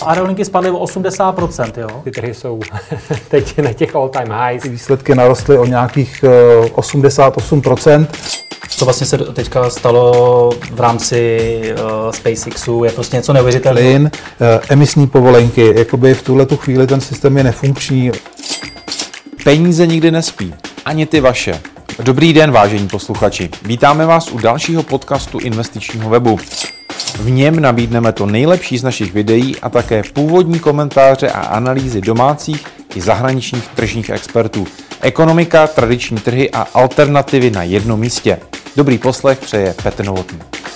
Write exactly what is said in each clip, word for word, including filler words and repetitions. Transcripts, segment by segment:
aerolinky spadly o osmdesát procent, jo? Ty trhy jsou teď na těch all-time highs. Ty výsledky narostly o nějakých osmdesát osm procent. Co vlastně se teďka stalo v rámci uh, SpaceXu, je prostě něco neuvěřitelného. Plyn, uh, emisní povolenky, jakoby v tuhletu chvíli ten systém je nefunkční. Peníze nikdy nespí, ani ty vaše. Dobrý den, vážení posluchači. Vítáme vás u dalšího podcastu investičního webu. V něm nabídneme to nejlepší z našich videí a také původní komentáře a analýzy domácích i zahraničních tržních expertů. Ekonomika, tradiční trhy a alternativy na jednom místě. Dobrý poslech přeje Petr Novotný.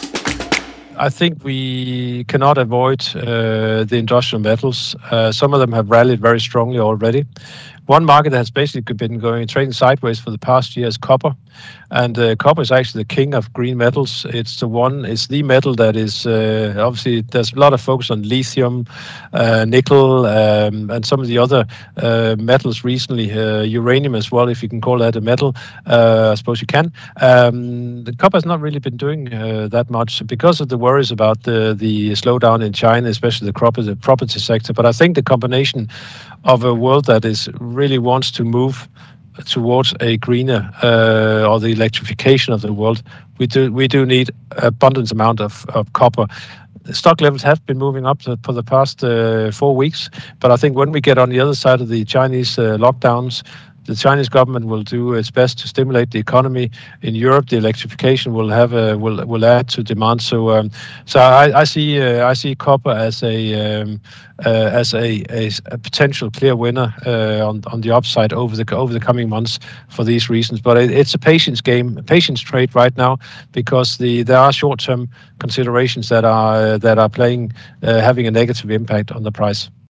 I think we cannot avoid uh, the industrial metals. Uh, some of them have rallied very strongly already. One market that has basically been going trading sideways for the past year is copper, and uh, copper is actually the king of green metals. It's the one, it's the metal that is uh, obviously there's a lot of focus on lithium, uh, nickel, um, and some of the other uh, metals recently, uh, uranium as well, if you can call that a metal. Uh, I suppose you can. Um, the copper has not really been doing uh, that much because of the worries about the the slowdown in China, especially the property, the property sector. But I think the combination of a world that is really wants to move towards a greener uh, or the electrification of the world, we do we do need abundant amount of, of copper. Stock levels have been moving up for the past uh, four weeks, but I think when we get on the other side of the Chinese uh, lockdowns, the Chinese government will do its best to stimulate the economy. In Europe, the electrification will have a, will will add to demand. So, um, so I, I see uh, I see copper as a um, uh, as a, a, a potential clear winner uh, on on the upside over the over the coming months for these reasons. But it, it's a patience game, a patience trade right now, because the there are short term considerations that are uh, that are playing uh, having a negative impact on the price.